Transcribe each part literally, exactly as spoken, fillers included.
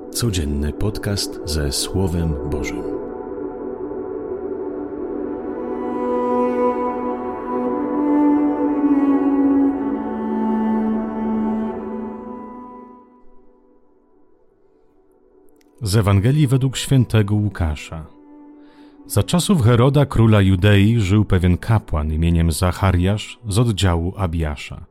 Codzienny podcast ze Słowem Bożym. Z Ewangelii według świętego Łukasza. Za czasów Heroda, króla Judei, żył pewien kapłan imieniem Zachariasz z oddziału Abiasza.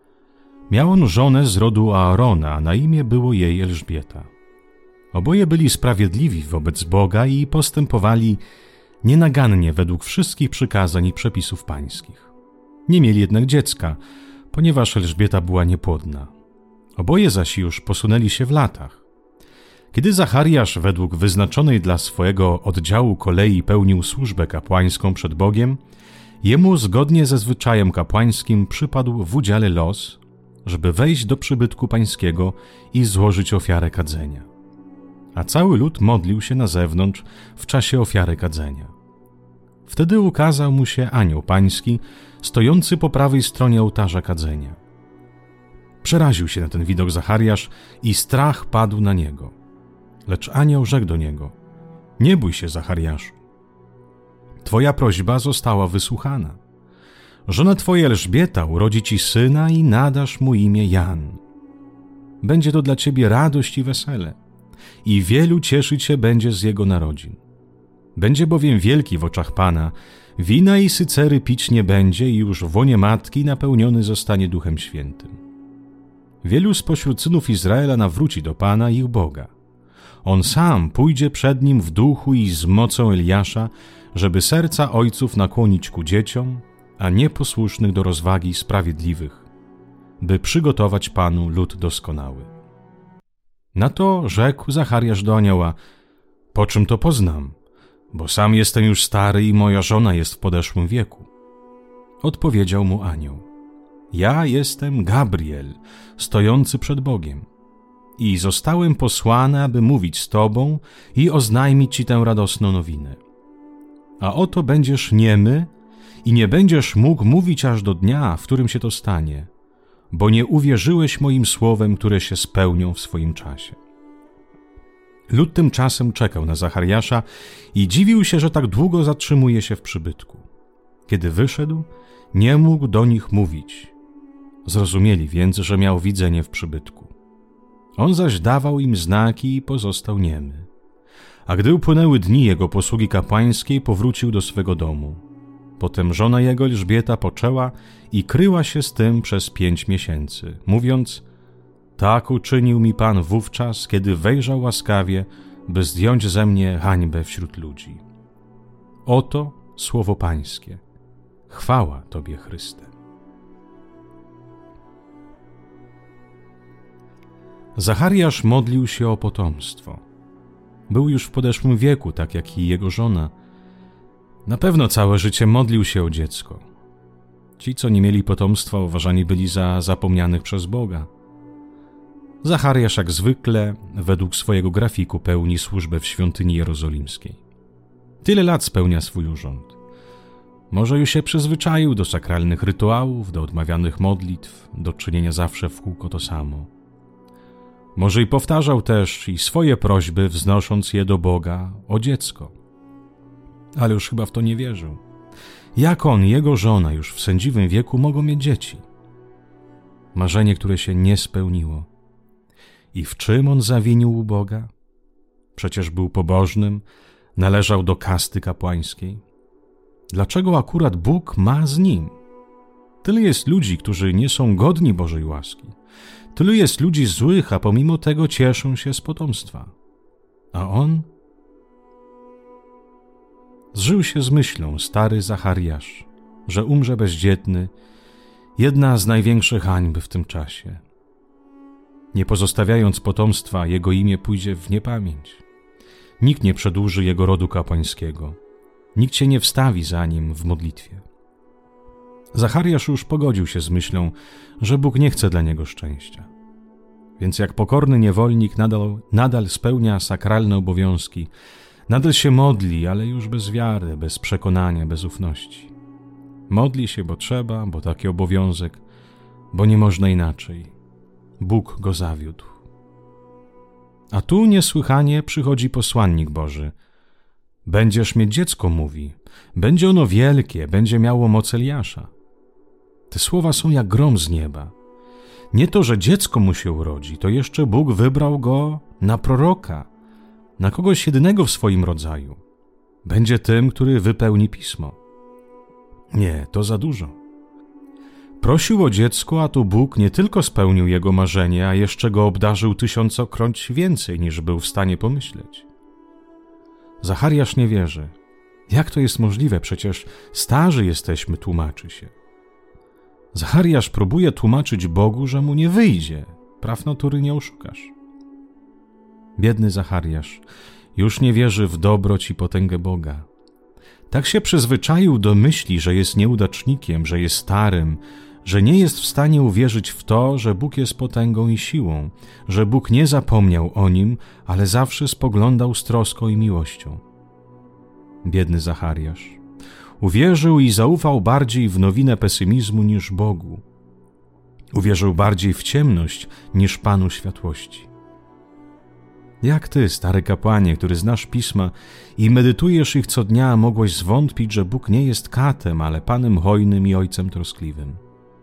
Miał on żonę z rodu Aarona, a na imię było jej Elżbieta. Oboje byli sprawiedliwi wobec Boga i postępowali nienagannie według wszystkich przykazań i przepisów pańskich. Nie mieli jednak dziecka, ponieważ Elżbieta była niepłodna. Oboje zaś już posunęli się w latach. Kiedy Zachariasz według wyznaczonej dla swojego oddziału kolei pełnił służbę kapłańską przed Bogiem, jemu zgodnie ze zwyczajem kapłańskim przypadł w udziale los, żeby wejść do przybytku pańskiego i złożyć ofiarę kadzenia. A cały lud modlił się na zewnątrz w czasie ofiary kadzenia. Wtedy ukazał mu się anioł pański, stojący po prawej stronie ołtarza kadzenia. Przeraził się na ten widok Zachariasz i strach padł na niego. Lecz anioł rzekł do niego: nie bój się, Zachariaszu. Twoja prośba została wysłuchana. Żona twoja Elżbieta urodzi ci syna i nadasz mu imię Jan. Będzie to dla ciebie radość i wesele, i wielu cieszyć się będzie z jego narodzin. Będzie bowiem wielki w oczach Pana, wina i sycery pić nie będzie i już w łonie matki napełniony zostanie Duchem Świętym. Wielu spośród synów Izraela nawróci do Pana, ich Boga. On sam pójdzie przed nim w duchu i z mocą Eliasza, żeby serca ojców nakłonić ku dzieciom, a nieposłusznych do rozwagi sprawiedliwych, by przygotować Panu lud doskonały. Na to rzekł Zachariasz do anioła: po czym to poznam, bo sam jestem już stary i moja żona jest w podeszłym wieku. Odpowiedział mu anioł: ja jestem Gabriel, stojący przed Bogiem, i zostałem posłany, aby mówić z tobą i oznajmić ci tę radosną nowinę. A oto będziesz niemy i nie będziesz mógł mówić aż do dnia, w którym się to stanie, bo nie uwierzyłeś moim słowem, które się spełnią w swoim czasie. Lud tymczasem czekał na Zachariasza i dziwił się, że tak długo zatrzymuje się w przybytku. Kiedy wyszedł, nie mógł do nich mówić. Zrozumieli więc, że miał widzenie w przybytku. On zaś dawał im znaki i pozostał niemy. A gdy upłynęły dni jego posługi kapłańskiej, powrócił do swego domu. Potem żona jego Elżbieta poczęła i kryła się z tym przez pięć miesięcy, mówiąc: tak uczynił mi Pan wówczas, kiedy wejrzał łaskawie, by zdjąć ze mnie hańbę wśród ludzi. Oto słowo Pańskie. Chwała Tobie, Chryste. Zachariasz modlił się o potomstwo. Był już w podeszłym wieku, tak jak i jego żona. Na pewno całe życie modlił się o dziecko. Ci, co nie mieli potomstwa, uważani byli za zapomnianych przez Boga. Zachariasz jak zwykle, według swojego grafiku, pełni służbę w świątyni jerozolimskiej. Tyle lat spełnia swój urząd. Może już się przyzwyczaił do sakralnych rytuałów, do odmawianych modlitw, do czynienia zawsze w kółko to samo. Może i powtarzał też i swoje prośby, wznosząc je do Boga o dziecko. Ale już chyba w to nie wierzył. Jak on i jego żona już w sędziwym wieku mogą mieć dzieci? Marzenie, które się nie spełniło. I w czym on zawinił u Boga? Przecież był pobożnym, należał do kasty kapłańskiej. Dlaczego akurat Bóg ma z nim? Tyle jest ludzi, którzy nie są godni Bożej łaski. Tylu jest ludzi złych, a pomimo tego cieszą się z potomstwa. A on? Zżył się z myślą stary Zachariasz, że umrze bezdzietny, jedna z największych hańb w tym czasie. Nie pozostawiając potomstwa, jego imię pójdzie w niepamięć. Nikt nie przedłuży jego rodu kapłańskiego. Nikt się nie wstawi za nim w modlitwie. Zachariasz już pogodził się z myślą, że Bóg nie chce dla niego szczęścia. Więc jak pokorny niewolnik nadal, nadal spełnia sakralne obowiązki, nadal się modli, ale już bez wiary, bez przekonania, bez ufności. Modli się, bo trzeba, bo taki obowiązek, bo nie można inaczej. Bóg go zawiódł. A tu niesłychanie przychodzi posłannik Boży. Będziesz mieć dziecko, mówi. Będzie ono wielkie, będzie miało moc Eliasza. Te słowa są jak grom z nieba. Nie to, że dziecko mu się urodzi, to jeszcze Bóg wybrał go na proroka, na kogoś jedynego w swoim rodzaju. Będzie tym, który wypełni pismo. Nie, to za dużo. Prosił o dziecko, a tu Bóg nie tylko spełnił jego marzenie, a jeszcze go obdarzył tysiącokroć więcej, niż był w stanie pomyśleć. Zachariasz nie wierzy. Jak to jest możliwe? Przecież starzy jesteśmy, tłumaczy się. Zachariasz próbuje tłumaczyć Bogu, że mu nie wyjdzie. Praw natury nie oszukasz. Biedny Zachariasz już nie wierzy w dobroć i potęgę Boga. Tak się przyzwyczaił do myśli, że jest nieudacznikiem, że jest starym, że nie jest w stanie uwierzyć w to, że Bóg jest potęgą i siłą, że Bóg nie zapomniał o nim, ale zawsze spoglądał z troską i miłością. Biedny Zachariasz uwierzył i zaufał bardziej w nowinę pesymizmu niż Bogu. Uwierzył bardziej w ciemność niż Panu światłości. Jak ty, stary kapłanie, który znasz pisma i medytujesz ich co dnia, mogłeś zwątpić, że Bóg nie jest katem, ale Panem hojnym i Ojcem troskliwym?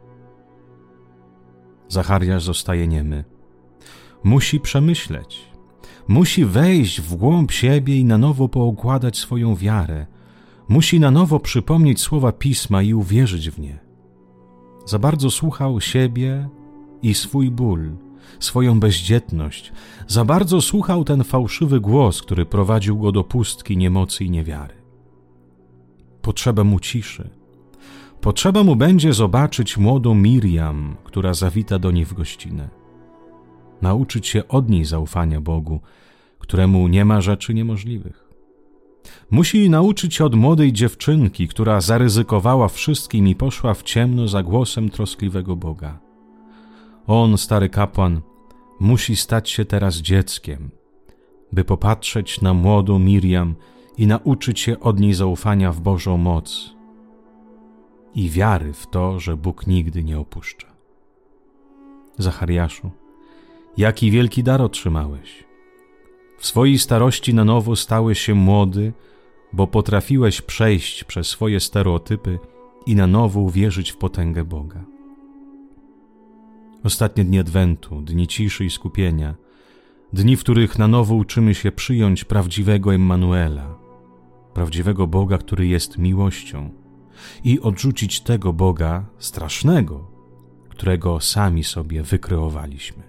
Zachariasz zostaje niemy. Musi przemyśleć. Musi wejść w głąb siebie i na nowo poukładać swoją wiarę. Musi na nowo przypomnieć słowa Pisma i uwierzyć w nie. Za bardzo słuchał siebie i swój ból, swoją bezdzietność. Za bardzo słuchał ten fałszywy głos, który prowadził go do pustki, niemocy i niewiary. Potrzeba mu ciszy. Potrzeba mu będzie zobaczyć młodą Miriam, która zawita do niej w gościnę. Nauczyć się od niej zaufania Bogu, któremu nie ma rzeczy niemożliwych. Musi nauczyć się od młodej dziewczynki, która zaryzykowała wszystkim i poszła w ciemno za głosem troskliwego Boga. On, stary kapłan, musi stać się teraz dzieckiem, by popatrzeć na młodą Miriam i nauczyć się od niej zaufania w Bożą moc i wiary w to, że Bóg nigdy nie opuszcza. Zachariaszu, jaki wielki dar otrzymałeś. W swojej starości na nowo stałeś się młody, bo potrafiłeś przejść przez swoje stereotypy i na nowo uwierzyć w potęgę Boga. Ostatnie dni Adwentu, dni ciszy i skupienia, dni, w których na nowo uczymy się przyjąć prawdziwego Emmanuela, prawdziwego Boga, który jest miłością, i odrzucić tego Boga strasznego, którego sami sobie wykreowaliśmy.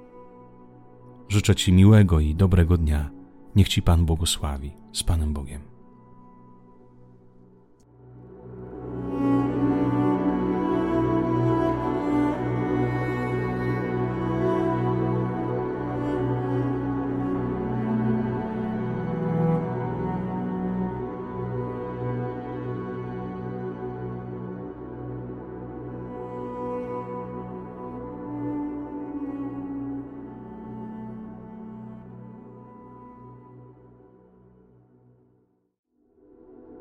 Życzę Ci miłego i dobrego dnia. Niech Ci Pan błogosławi. Z Panem Bogiem.